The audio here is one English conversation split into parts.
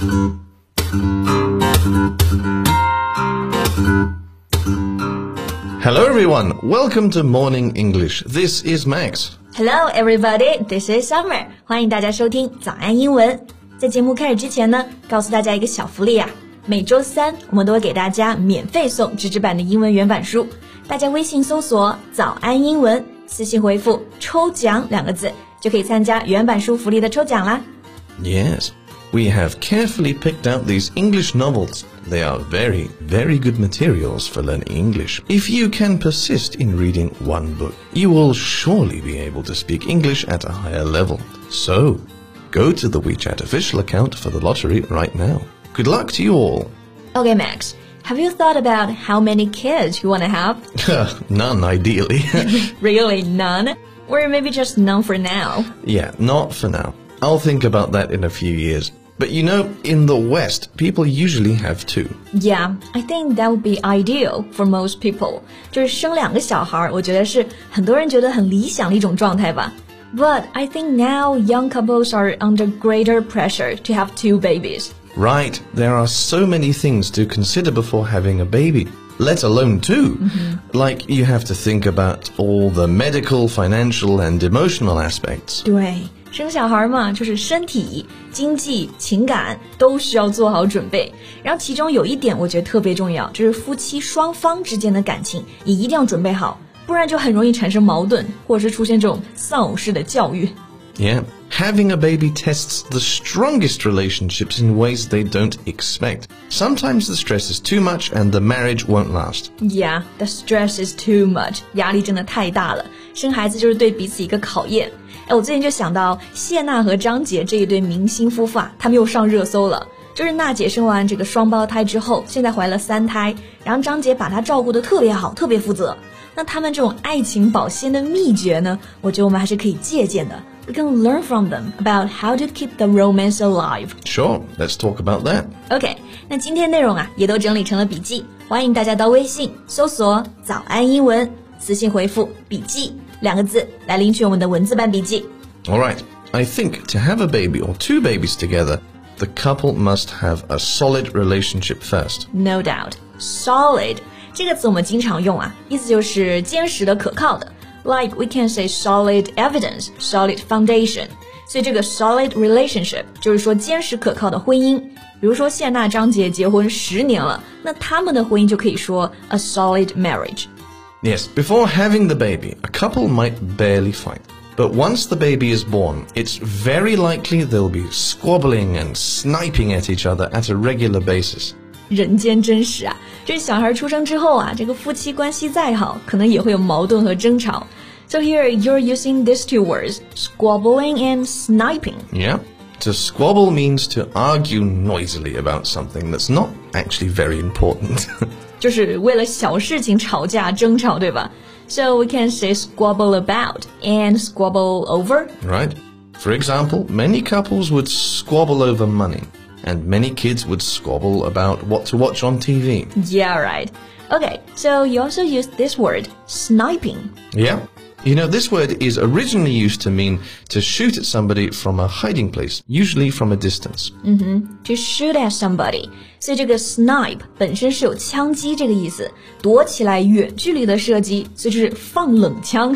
Hello everyone, welcome to Morning English. This is Max. Hello everybody, this is Summer. 欢迎大家收听早安英文。在节目开始之前呢，告诉大家一个小福利啊，每周三我们都会给大家免费送纸质版的英文原版书。大家微信搜索早安英文，私信回复抽奖2个字，就可以参加原版书福利的抽奖啦。 Yes, we have carefully picked out these English novels. They are very, very good materials for learning English. If you can persist in reading one book, you will surely be able to speak English at a higher level. So, go to the WeChat official account for the lottery right now. Good luck to you all. Okay, Max, have you thought about how many kids you want to have? None, ideally. Really, none? Or maybe just none for now? Yeah, not for now. I'll think about that in a few years. But you know, in the West, people usually have 2. Yeah, I think that would be ideal for most people. 就是生2个小孩，我觉得是很多人觉得很理想的一种状态吧。But I think now young couples are under greater pressure to have 2 babies. Right, there are so many things to consider before having a baby, let alone 2. Like you have to think about all the medical, financial and emotional aspects. 对，生小孩嘛，就是身体、经济、情感都需要做好准备。然后其中有一点我觉得特别重要，就是夫妻双方之间的感情也一定要准备好，不然就很容易产生矛盾，或者是出现这种丧偶式的教育。 Yeah, having a baby tests the strongest relationships in ways they don't expect. Sometimes the stress is too much and the marriage won't last. Yeah, the stress is too much. 压力真的太大了，生孩子就是对彼此一个考验。我最近就想到谢娜和张杰这一对明星夫妇啊，他们又上热搜了。就是娜姐生完这个双胞胎之后，现在怀了3胎，然后张杰把她照顾得特别好，特别负责。那他们这种爱情保鲜的秘诀呢，我觉得我们还是可以借鉴的。We can learn from them about how to keep the romance alive. Sure, let's talk about that. OK, 那今天内容啊，也都整理成了笔记，欢迎大家到微信搜索早安英文，私信回复笔记2个字来领取我们的文字版笔记。 All right, I think to have a baby or 2 babies together, the couple must have a solid relationship first. No doubt. Solid 这个词我们经常用啊，意思就是坚实的、可靠的。Like we can say solid evidence, solid foundation. 所以这个 solid relationship 就是说坚实可靠的婚姻。比如说谢娜、张杰结婚10年了，那他们的婚姻就可以说 a solid marriage. Yes, before having the baby, a couple might barely fight. But once the baby is born, it's very likely they'll be squabbling and sniping at each other at a regular basis. 人间真实啊，这小孩出生之后啊，这个夫妻关系再好，可能也会有矛盾和争吵。So here you're using these 2 words, squabbling and sniping. Yeah. To squabble means to argue noisily about something that's not actually very important. 就是为了小事情吵架争吵，对吧？ So we can say squabble about and squabble over. Right. For example, many couples would squabble over money, and many kids would squabble about what to watch on TV. Yeah, right. Okay, so you also use this word, sniping. Yeah. You know, this word is originally used to mean to shoot at somebody from a hiding place, usually from a distance. To shoot at somebody. 所以这个 snipe 本身是有枪击这个意思，躲起来远距离的射击，所以就是放冷枪。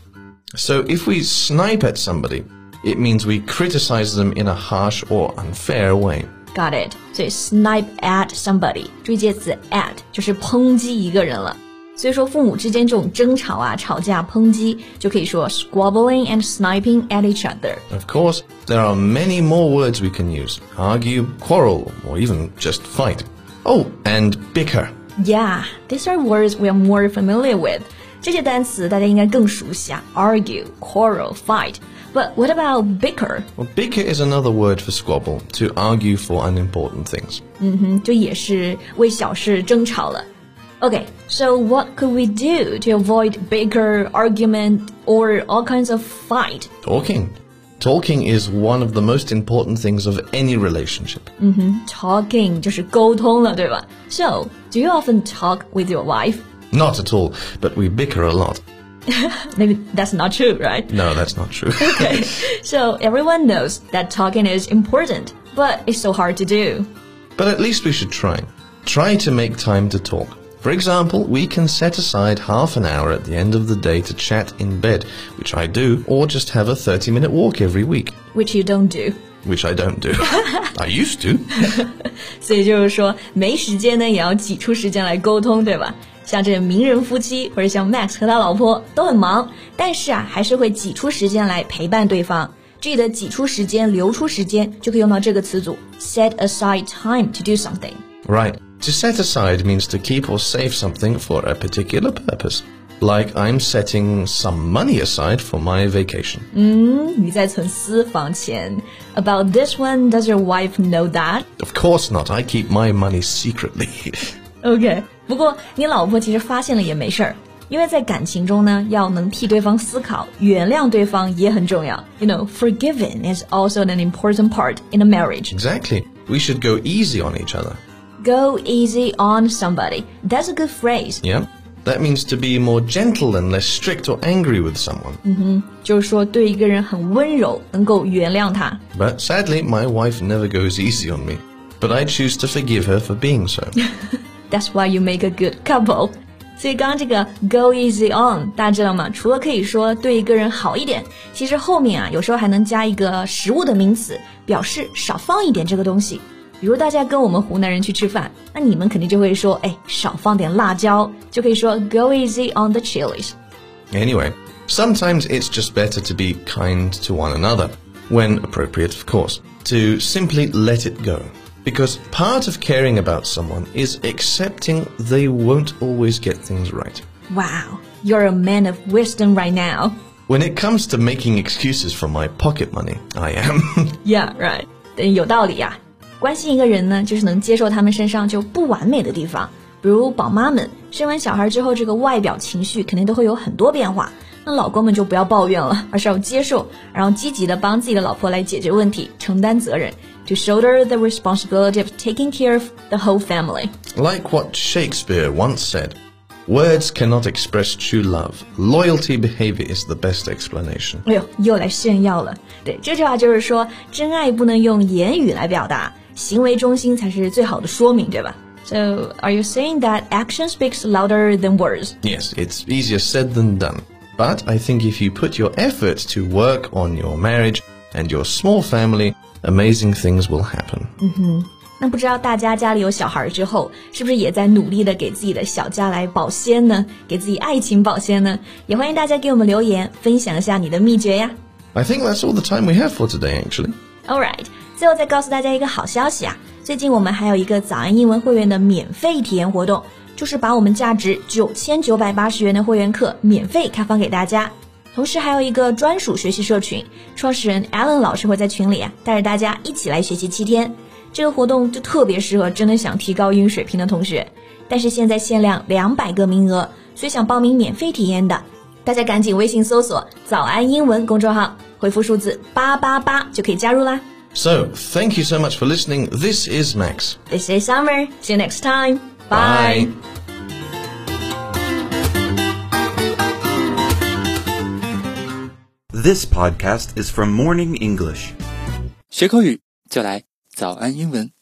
So if we snipe at somebody, it means we criticize them in a harsh or unfair way. Got it. 所以 snipe at somebody 注意介词 at 就是抨击一个人了。所以说父母之间这种争吵啊、吵架、抨击，就可以说 squabbling and sniping at each other. Of course, there are many more words we can use. Argue, quarrel, or even just fight. Oh, and bicker. Yeah, these are words we are more familiar with. 这些单词大家应该更熟悉啊 argue, quarrel, fight. But what about bicker? Well, bicker is another word for squabble, to argue for unimportant things. 就也是为小事争吵了。Okay, so what could we do to avoid bicker, argument, or all kinds of fight? Talking. Talking is one of the most important things of any relationship. Talking 就是沟通了，对吧？ So, do you often talk with your wife? Not at all, but we bicker a lot. Maybe that's not true, right? No, that's not true. Okay, so everyone knows that talking is important. but it's so hard to do. But at least we should try. Try to make time to talk. For example, we can set aside half an hour at the end of the day to chat in bed, which I do, or just have a 30-minute walk every week. Which you don't do. Which I don't do. I used to. 所以就是说，没时间呢，也要挤出时间来沟通，对吧？像这名人夫妻，或者像 Max 和他老婆都很忙，但是啊，还是会挤出时间来陪伴对方。这里的挤出时间、留出时间，就可以用到这个词组 set aside time to do something. Right. To set aside means to keep or save something for a particular purpose. Like I'm setting some money aside for my vacation. 你在存私房钱。About this one, does your wife know that? Of course not. I keep my money secretly. OK, 不过你老婆其实发现了也没事儿，因为在感情中呢，要能替对方思考，原谅对方也很重要。You know, forgiving is also an important part in a marriage. Exactly. We should go easy on each other. Go easy on somebody. That's a good phrase. Yeah. That means to be more gentle and less strict or angry with someone. 就是说对一个人很温柔，能够原谅他。 But sadly, my wife never goes easy on me. But I choose to forgive her for being so. That's why you make a good couple. 所以刚刚这个 go easy on 大家知道吗？除了可以说对一个人好一点，其实后面啊有时候还能加一个食物的名词，表示少放一点这个东西。比如大家跟我们湖南人去吃饭，那你们肯定就会说，少放点辣椒，就可以说 go easy on the chilies. Anyway, sometimes it's just better to be kind to one another, when appropriate, of course, to simply let it go. Because part of caring about someone is accepting they won't always get things right. Wow, you're a man of wisdom right now. When it comes to making excuses for my pocket money, I am. Yeah, right. 有道理呀。关心一个人呢，就是能接受他们身上就不完美的地方。比如宝妈们生完小孩之后，这个外表情绪肯定都会有很多变化。那老公们就不要抱怨了，而是要接受，然后积极的帮自己的老婆来解决问题，承担责任。To shoulder the responsibility of taking care of the whole family. Like what Shakespeare once said, words cannot express true love. Loyalty behavior is the best explanation. 哎呦，又来炫耀了。对，这句话就是说，真爱不能用言语来表达，行为中心才是最好的说明，对吧？ So, are you saying that action speaks louder than words? Yes, it's easier said than done. But I think if you put your effort to work on your marriage and your small family, amazing things will happen. 那不知道大家家里有小孩之后，是不是也在努力的给自己的小家来保鲜呢？给自己爱情保鲜呢？也欢迎大家给我们留言，分享一下你的秘诀呀。 I think that's all the time we have for today, actually. Alright, 最后再告诉大家一个好消息啊！最近我们还有一个早安英文会员的免费体验活动，就是把我们价值9980元的会员课免费开放给大家。同时还有一个专属学习社群，创始人 Alan 老师会在群里带着大家一起来学习7天。这个活动就特别适合真的想提高英语水平的同学，但是现在限量200个名额，所以想报名免费体验的，大家赶紧微信搜索早安英文公众号，回复数字888就可以加入啦。 So, thank you so much for listening. This is Max. This is Summer. See you next time. Bye. This podcast is from Morning English. 学口语就来早安英文。